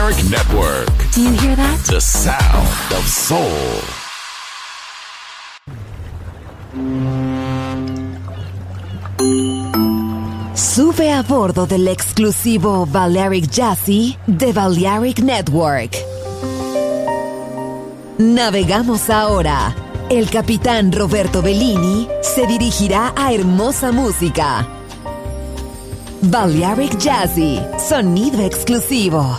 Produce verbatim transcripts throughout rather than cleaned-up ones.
Balearic Network. Do you hear that? The sound of soul. Sube a bordo del exclusivo Balearic Jazzy de Balearic Network. Navegamos ahora. El capitán Roberto Bellini se dirigirá a hermosa música. Balearic Jazzy, sonido exclusivo.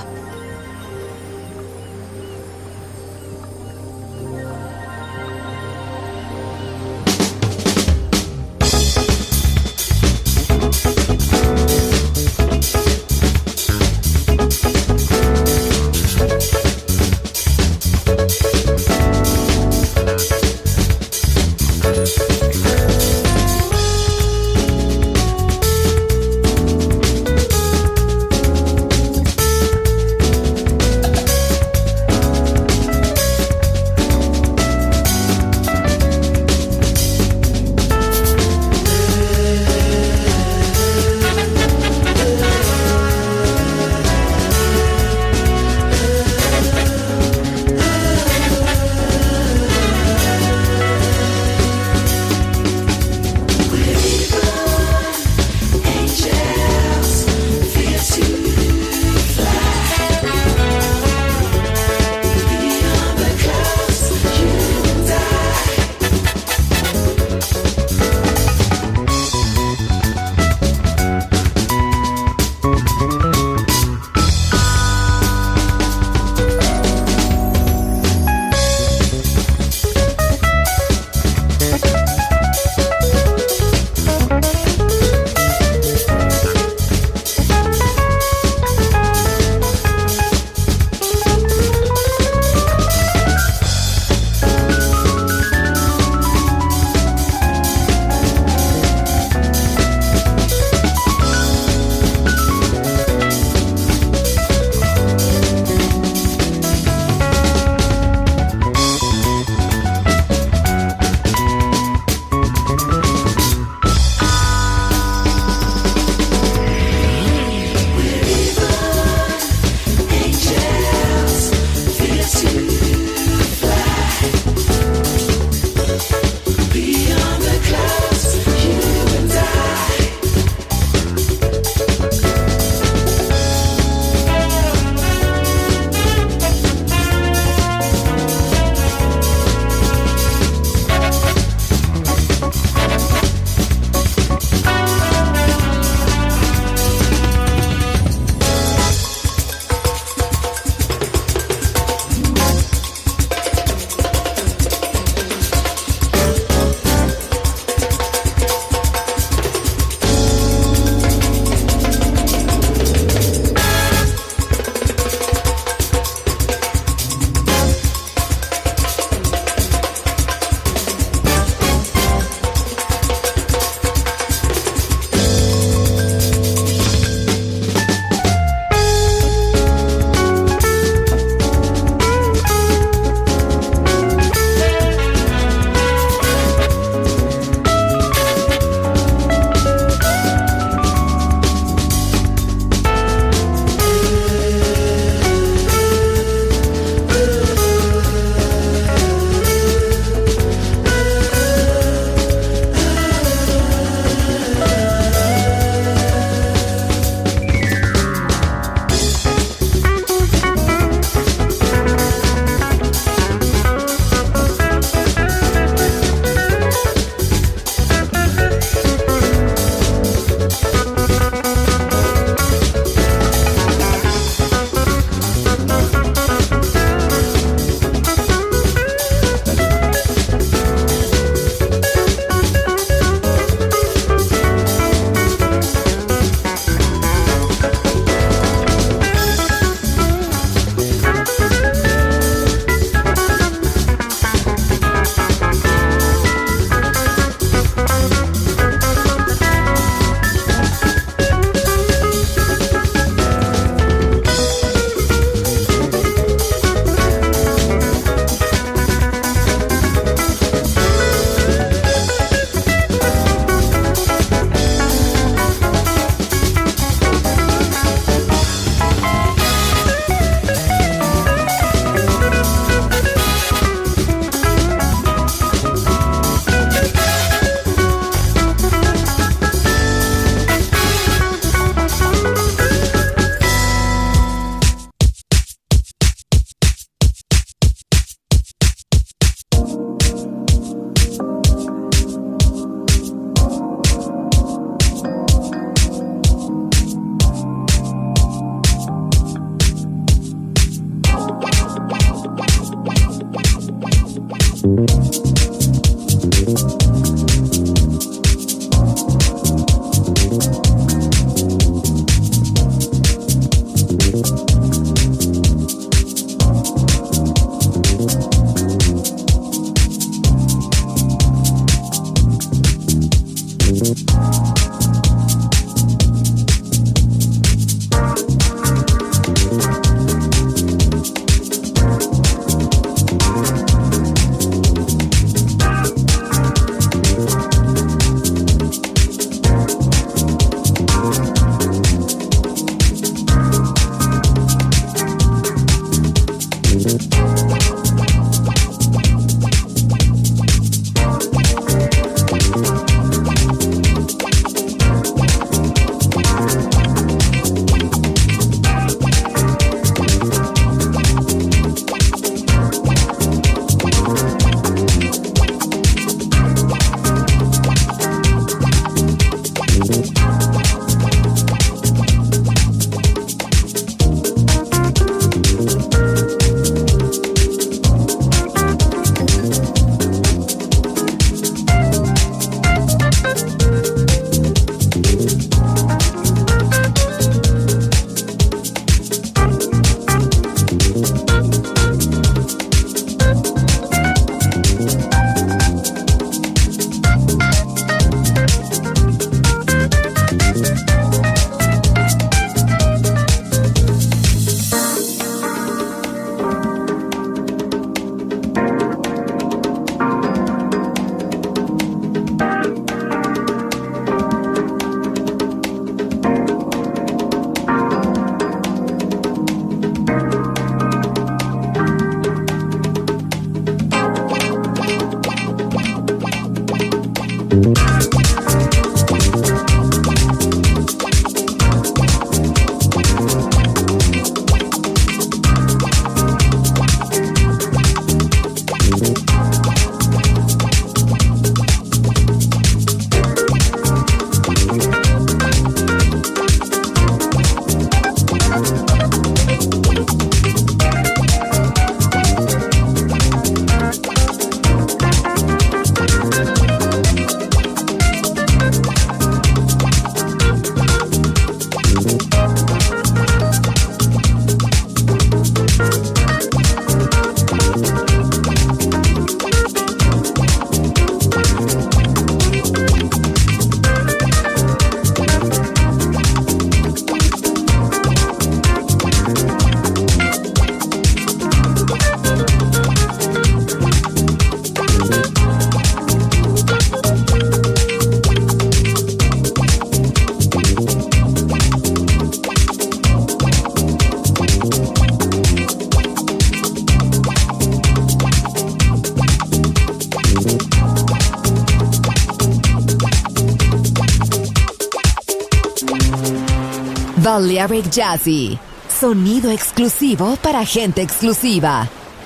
Balearic Jazzy, sonido exclusivo para gente exclusiva.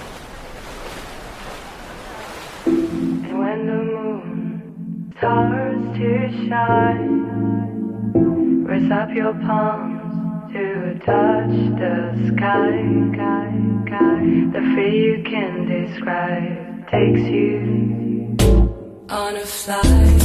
And when the moon starts to shine, raise up your palms to touch the sky, sky, sky. The fear you can describe takes you on a flight.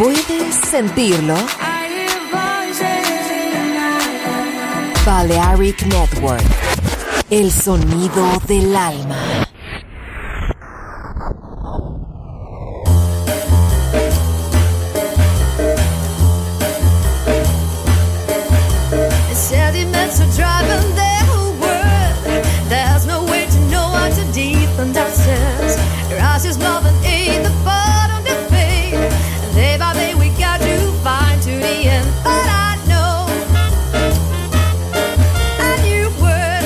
¿Puedes sentirlo? Balearic Network, el sonido del alma. Sediments are driving the whole world. There's no way to know how to defend ourselves. Rise is love and aid, the bottom to fade. Day by day we got to find to the end. But I know a new word,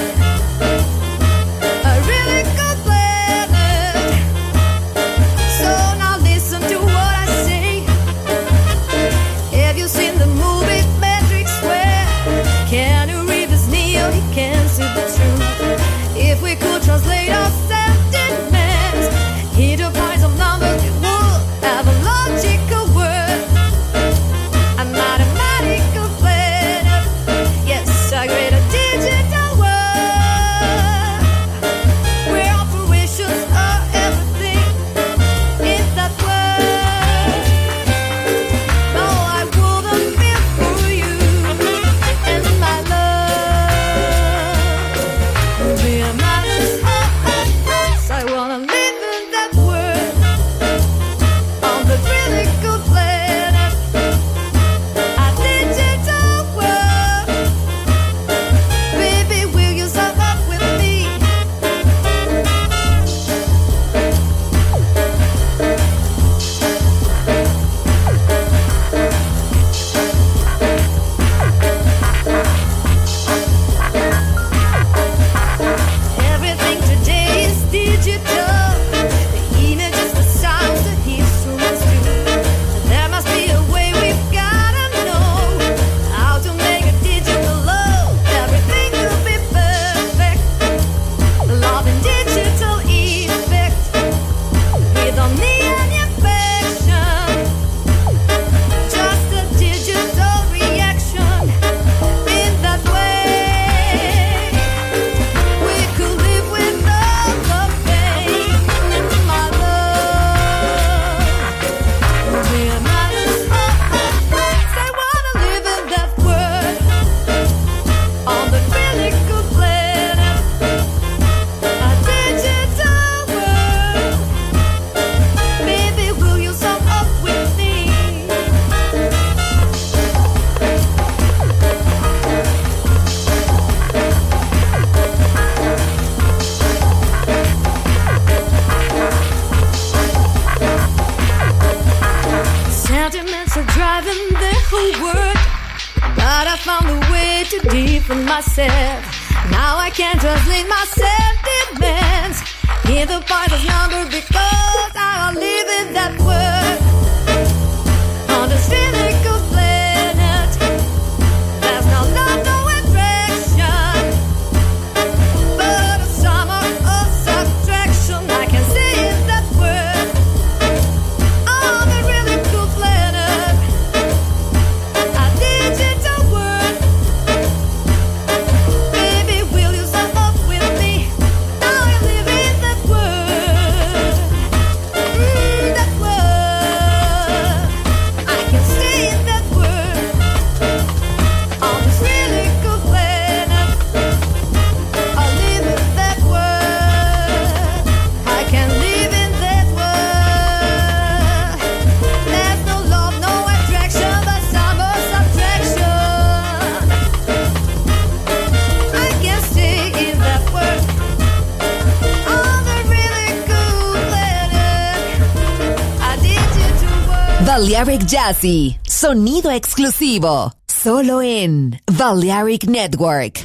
a really good planet. So now listen to what I say. Have you seen the movie Matrix where can you read this Neo? He can't see the truth. If we could translate our sentiments into points of numbers, we would have a logical word, a mathematical planet. Yes, I create a digital world where operations are everything in that world. No, I wouldn't feel for you. And my love will be a madness. Oh, oh, oh. I wanna live in that world on the really good planet, a digital world. Baby, will you step up with me? Everything today is digital. The images, the sounds, the instruments too. There must be a way, we've gotta know how to make a digital love. Everything will be perfect. Love and digital effect. We don't need any affection. Just a digital reaction. In that way, we could live without the pain. My love will be a madness. Oh, oh, oh. I wanna live in that world on the really good planet, a digital world. Baby, will you sum up with me? Sentiments are driving the whole world, but I found a way to defend myself. Now I can't translate my sentiments into part of number because I live in that world on this physical planet. There's no love, no attraction, but a sum of subtraction. I can see in that world on the really cool planet, a digital world. Baby, will you step up with me? Now I live in that world, mm, that world. I can stay in that world on this really cool planet. I live in that world. I can live in that world. There's no love, no attraction, but some of subtraction. I can stay in that world on the really cool planet, a digital world. Balearic Jazzy, sonido exclusivo, solo en Balearic Network.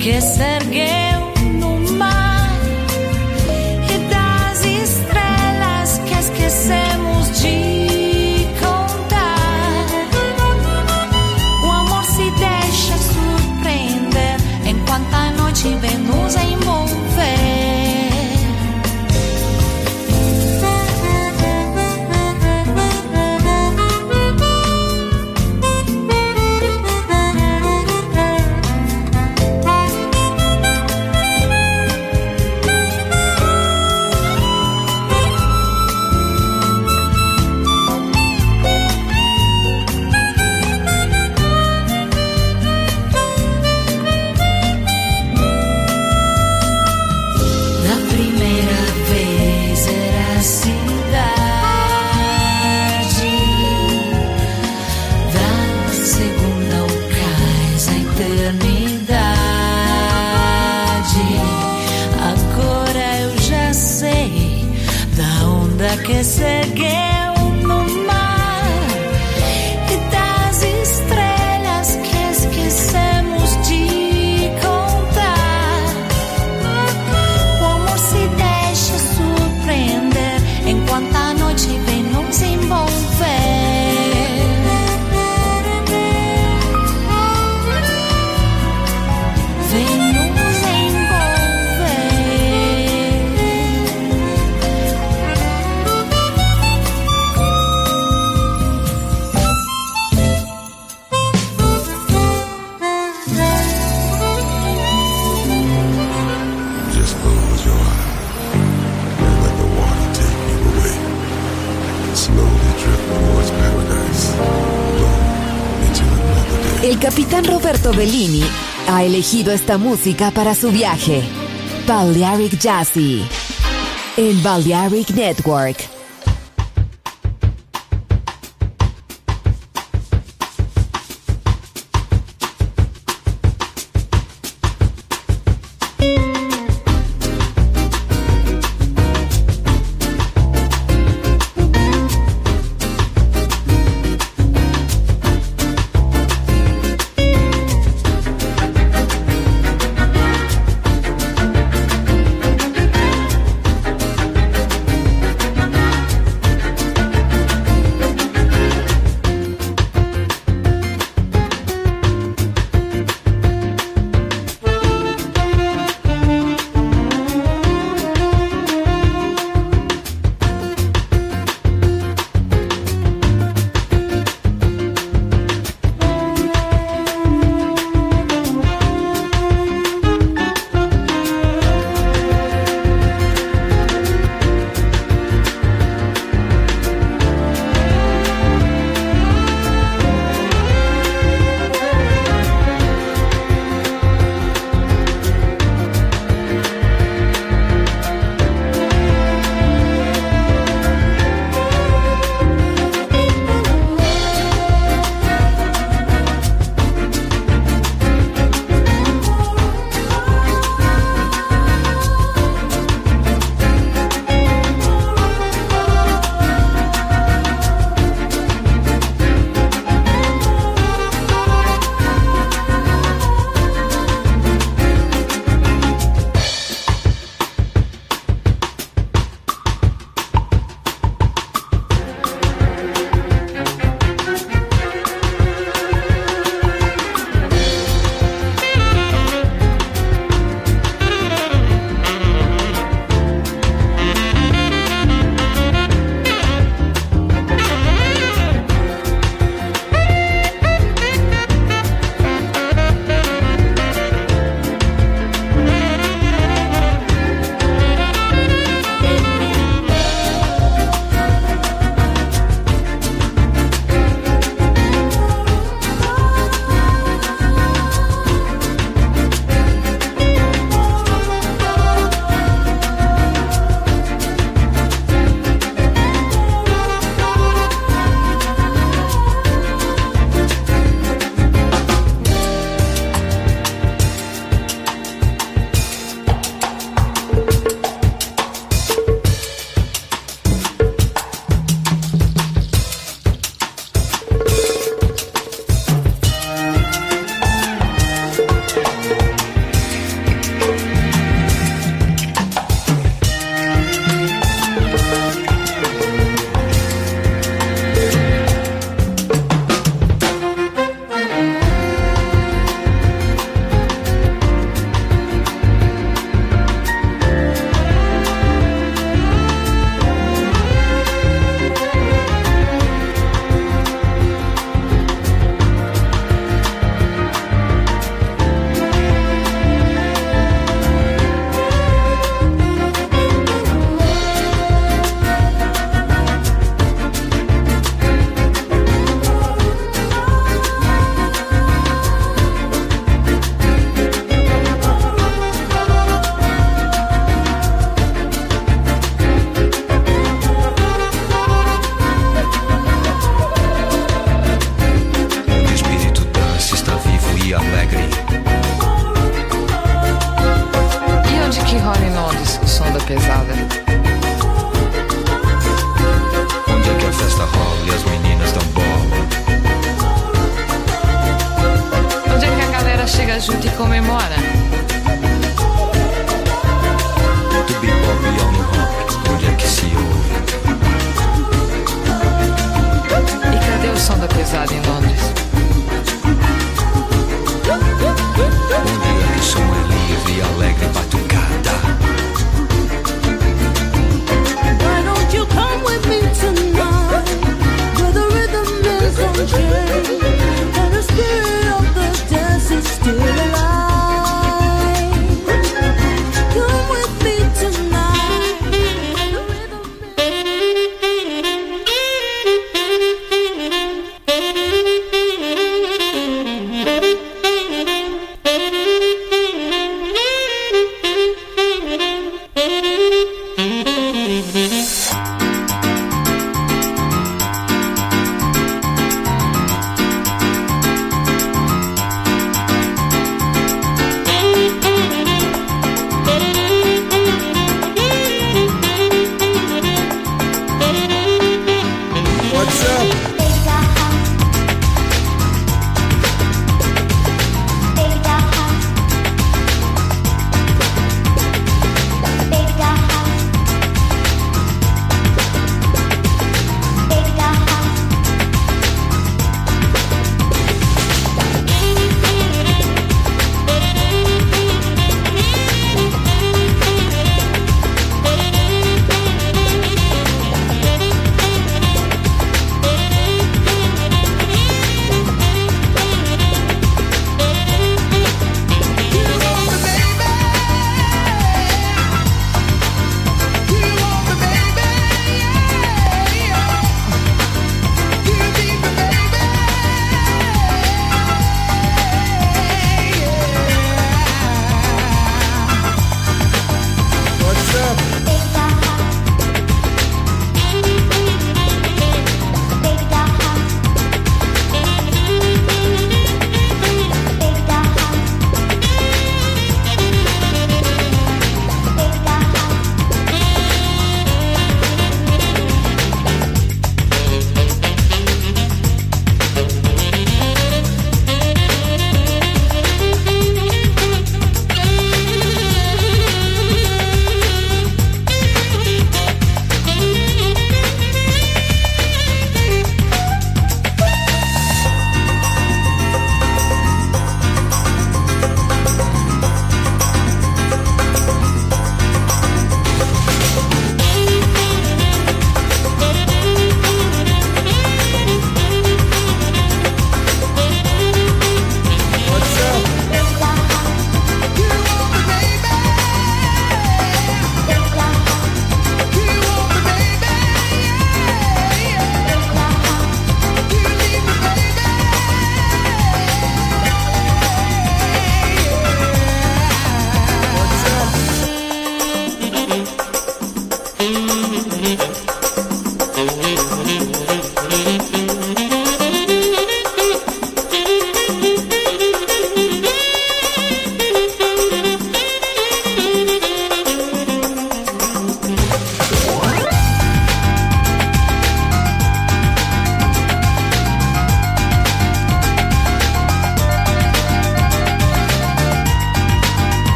que se ergueu no mar e das estrelas que esquecemos de contar. O amor se deixa surpreender enquanto a noite vem nos envolver. Que se ergueu no mar e das estrelas que esquecemos de contar. O amor se deixa surpreender enquanto a noite vem nos envolver. Vem nos envolver. El capitán Roberto Bellini ha elegido esta música para su viaje. Balearic Jazzy en Balearic Network. meninas dão bola. Onde é que a galera chega junto e comemora? Do bebop ao no rock, onde é que se ouve? E cadê o som da pesada em Londres? Onde é que o som é livre e alegre batucada? Why don't you come with me tonight, where the rhythm is unchained, and the spirit of the dance is still alive?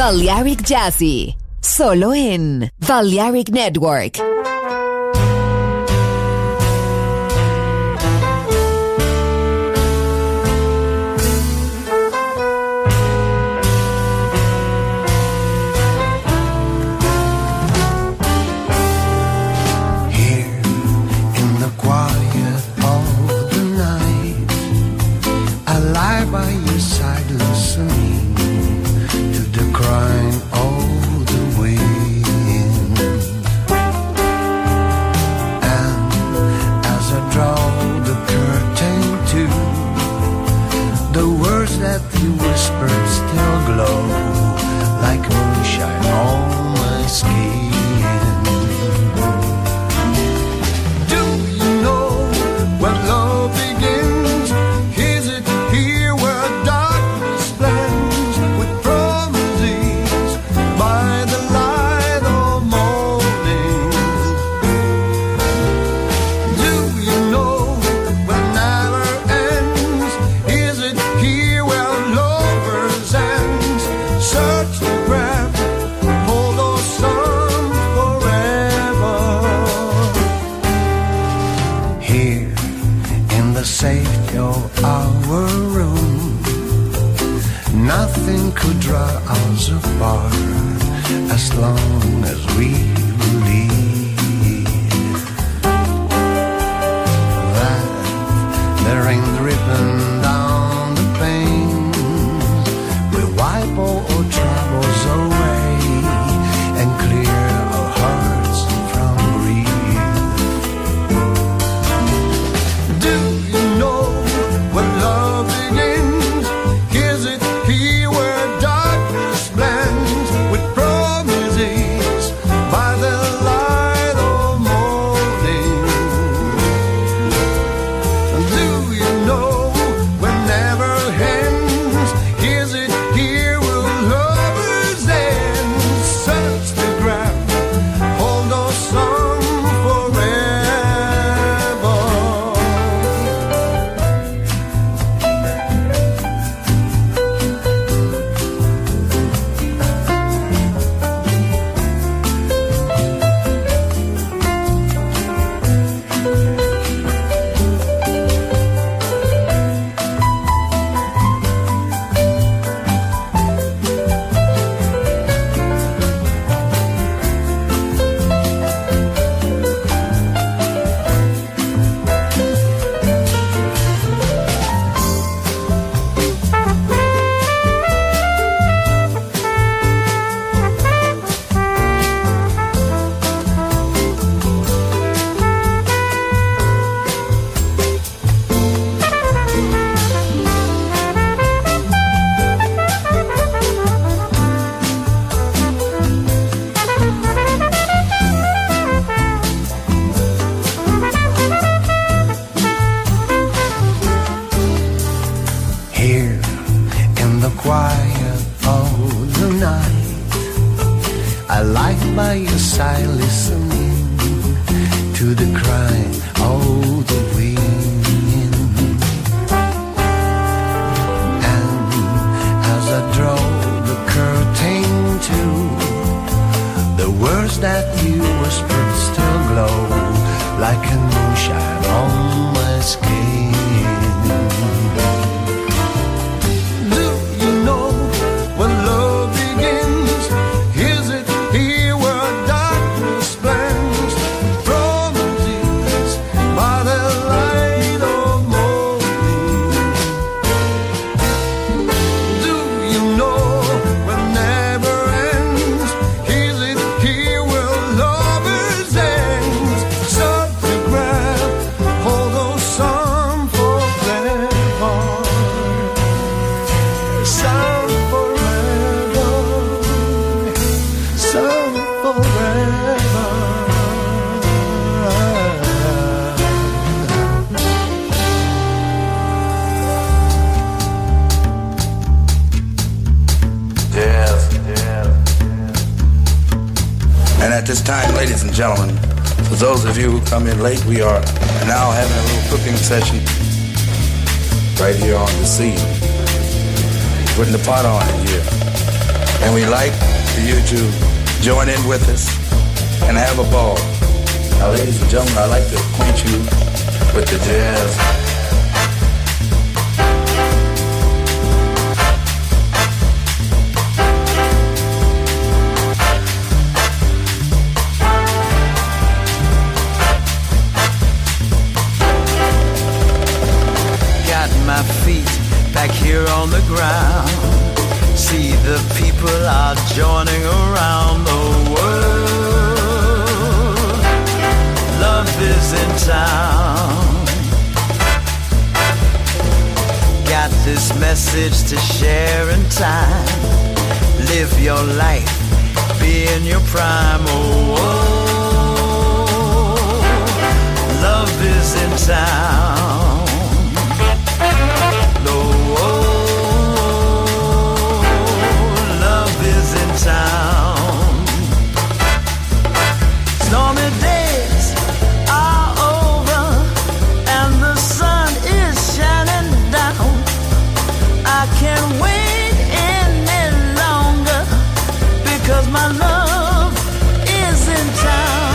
Balearic Jazzy, solo en Balearic Network. By your side, listening to the crying of the wind. And as I draw the curtain to, the words that you whispered still glow like moonshine on my skin. Do you know when love begins? Is it here? Safety of our room, nothing could draw us apart as long as we believe that there ain't dripping down the pain. We wipe all our troubles away and clear our hearts from grief. Do when love begins, is it here where darkness blends with promises by the light of morning? Do you know when never ends, is it here where lovers end? Search the ground, hold our song forever. At this time, ladies and gentlemen, for those of you who come in late, we are now having a little cooking session right here on the scene. Putting the pot on in here. And we like for you to join in with us and have a ball. Now, ladies and gentlemen, I'd like to acquaint you with the jazz. Got my feet back here on the ground. See the people are joining around the world. Love is in town. Got this message to share in time. Live your life, be in your prime. Oh, oh. Love is in town. No, oh. Town. Stormy days are over and the sun is shining down. I can't wait any longer because my love is in town.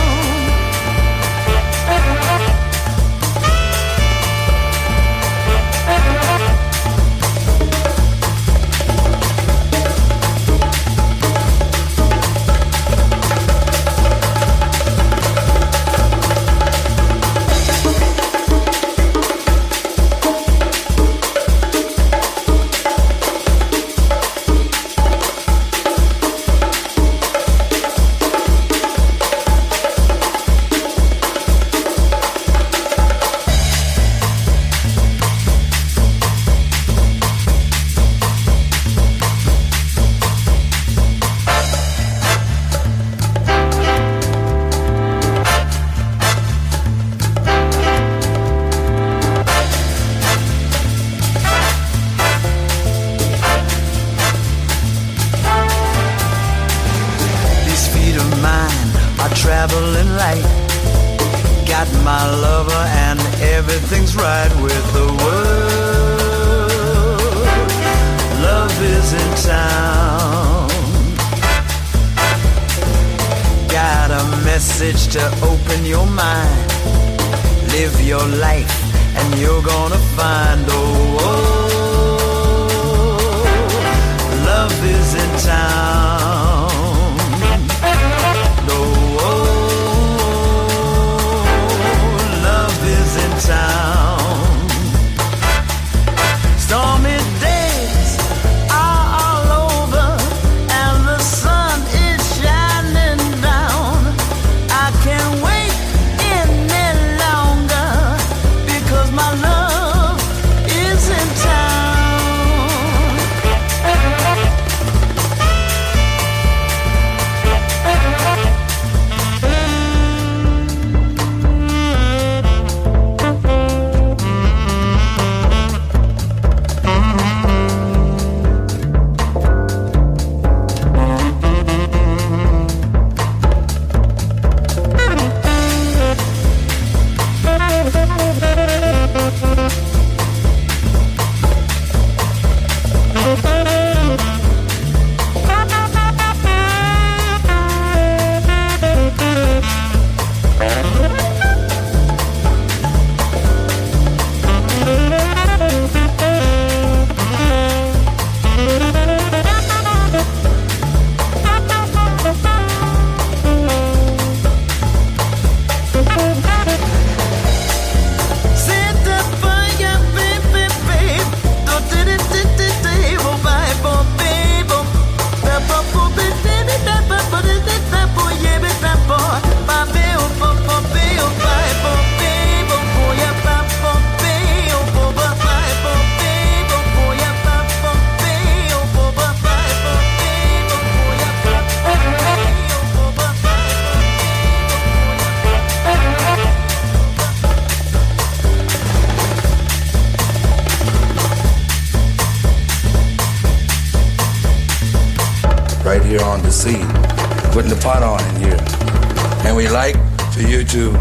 right here on the scene, putting the pot on in here. And we like for you to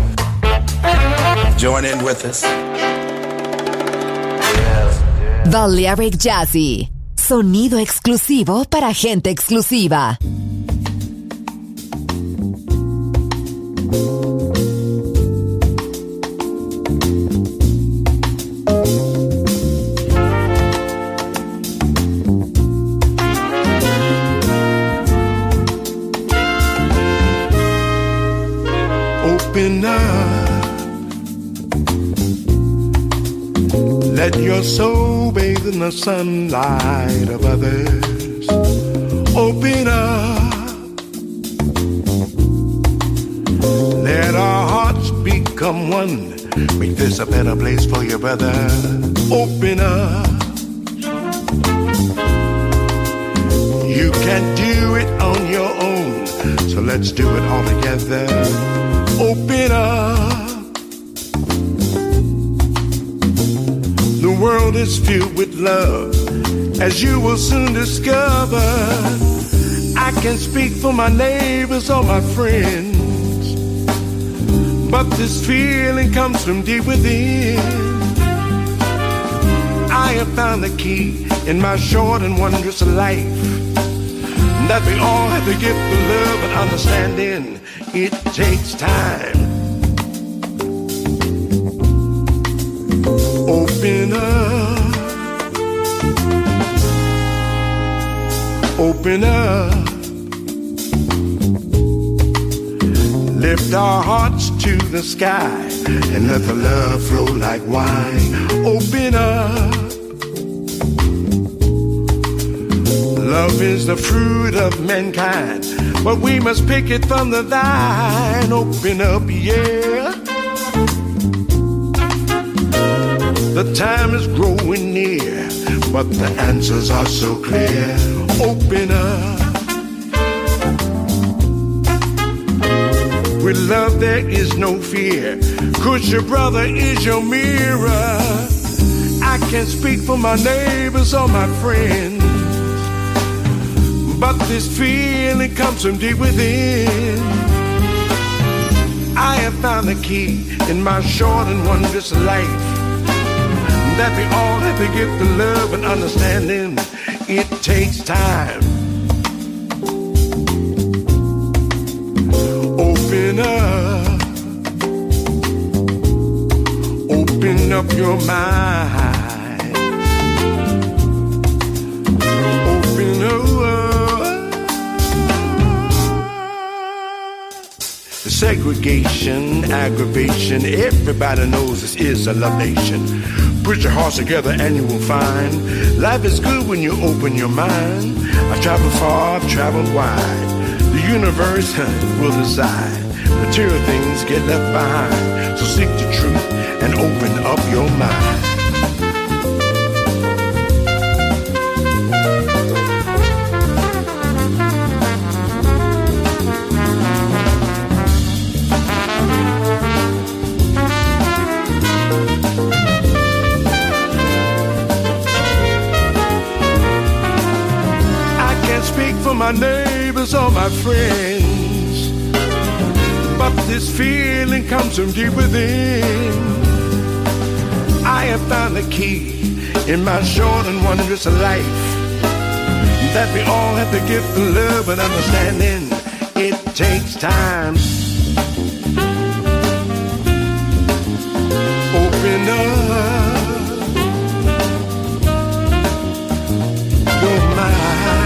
join in with us. Yes. Balearic Jazzy, Sonido exclusivo para gente exclusiva. Open up, let your soul bathe in the sunlight of others. Open up, let our hearts become one. Make this a better place for your brother. Open up, you can't do it on your own, so let's do it all together. Open up. The world is filled with love, as you will soon discover. I can speak for my neighbors or my friends, but this feeling comes from deep within. I have found the key in my short and wondrous life, that we all have to give the love and understanding. It takes time. Open up, open up, lift our hearts to the sky and let the love flow like wine. Open up, love is the fruit of mankind, but we must pick it from the vine. Open up, yeah. The time is growing near, but the answers are so clear. Open up. With love there is no fear, 'cause your brother is your mirror. I can speak for my neighbors or my friends, but this feeling comes from deep within. I have found the key in my short and wondrous life, that we all have to give the love and understanding. It takes time. Open up, open up your mind. Open up. Segregation, aggravation, everybody knows this is a love nation. Put your hearts together and you will find life is good when you open your mind. I've traveled far, I've traveled wide. The universe will decide. Material things get left behind. So seek the truth and open up your mind. My neighbors or my friends, but this feeling comes from deep within. I have found the key in my short and wondrous life, that we all have to give the love and understanding. It takes time. Open up your mind.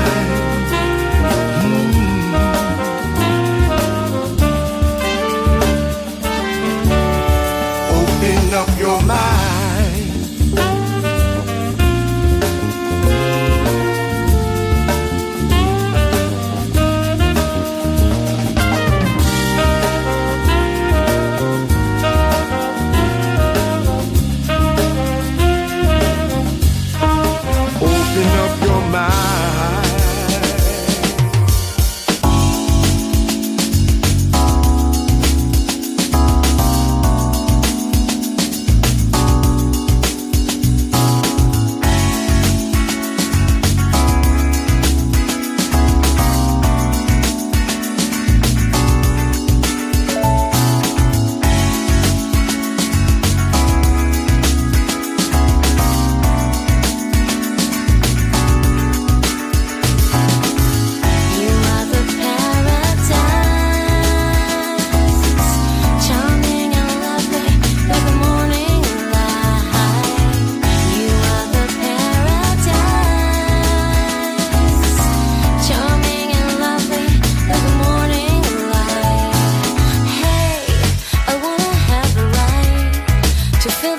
Up your mind. Open up your mind.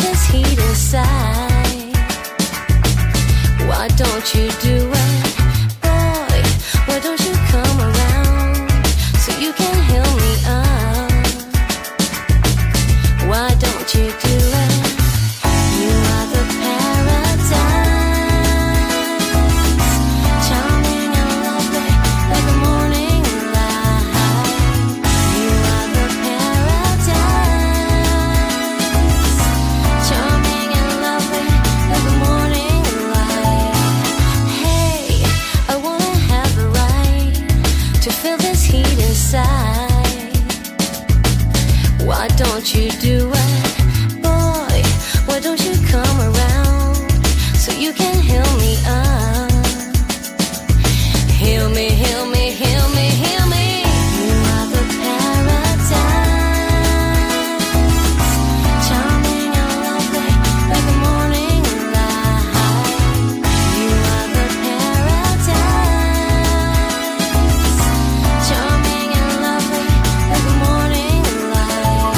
this heat inside. Why don't you do it, boy? Why don't you come around so you can heal me up? Why don't you do it? You are the paradise, charming and lovely like the morning light. You are the paradise, charming and lovely like the morning light. Hey, I wanna have the right to feel this heat inside. Why don't you do it, boy? Why don't you come around so you can heal me up? Heal me, heal me, heal me, heal me. You are the paradise, charming and lovely like the morning light. You are the paradise, charming and lovely like the morning light.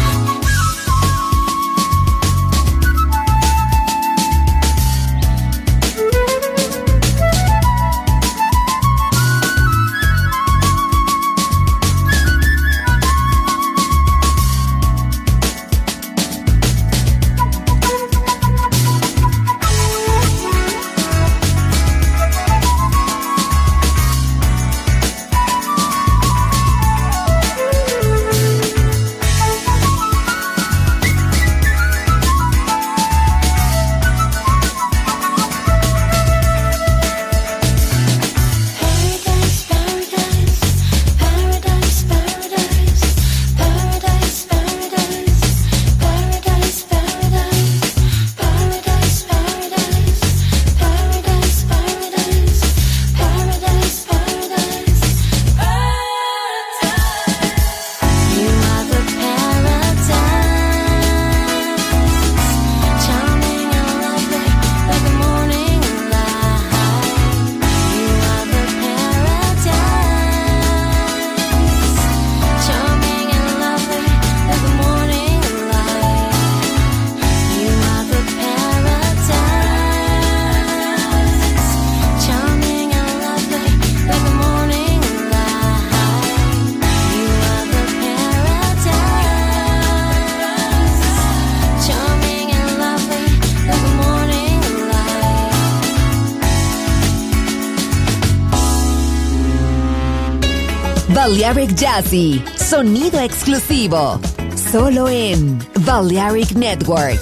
Balearic Jazzy, sonido exclusivo, solo en Balearic Network.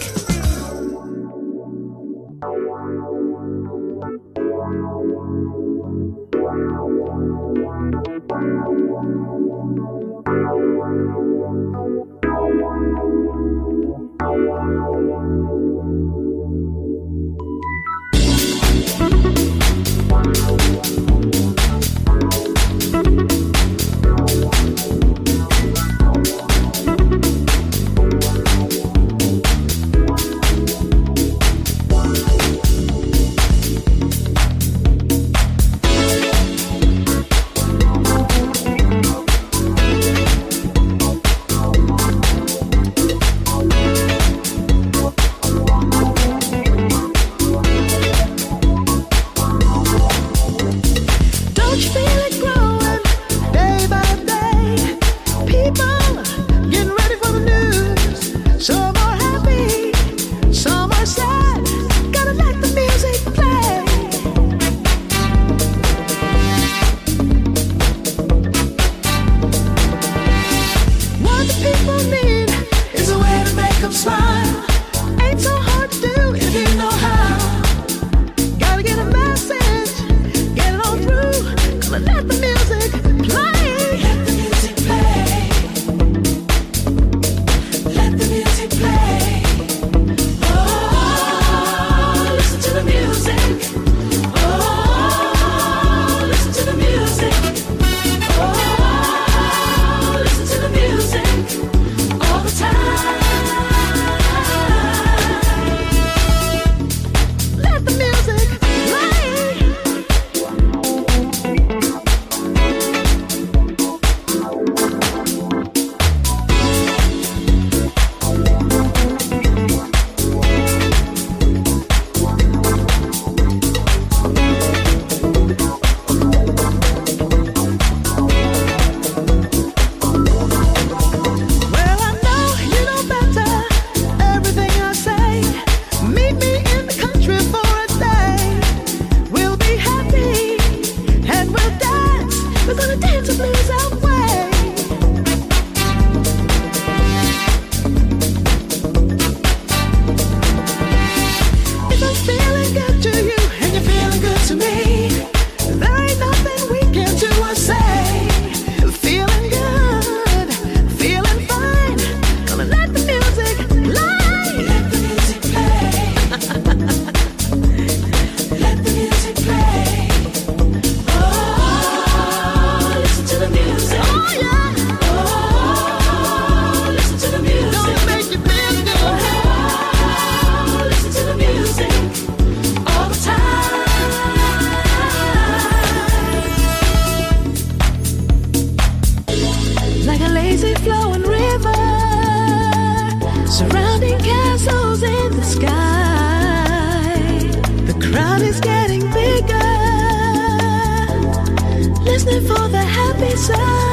side.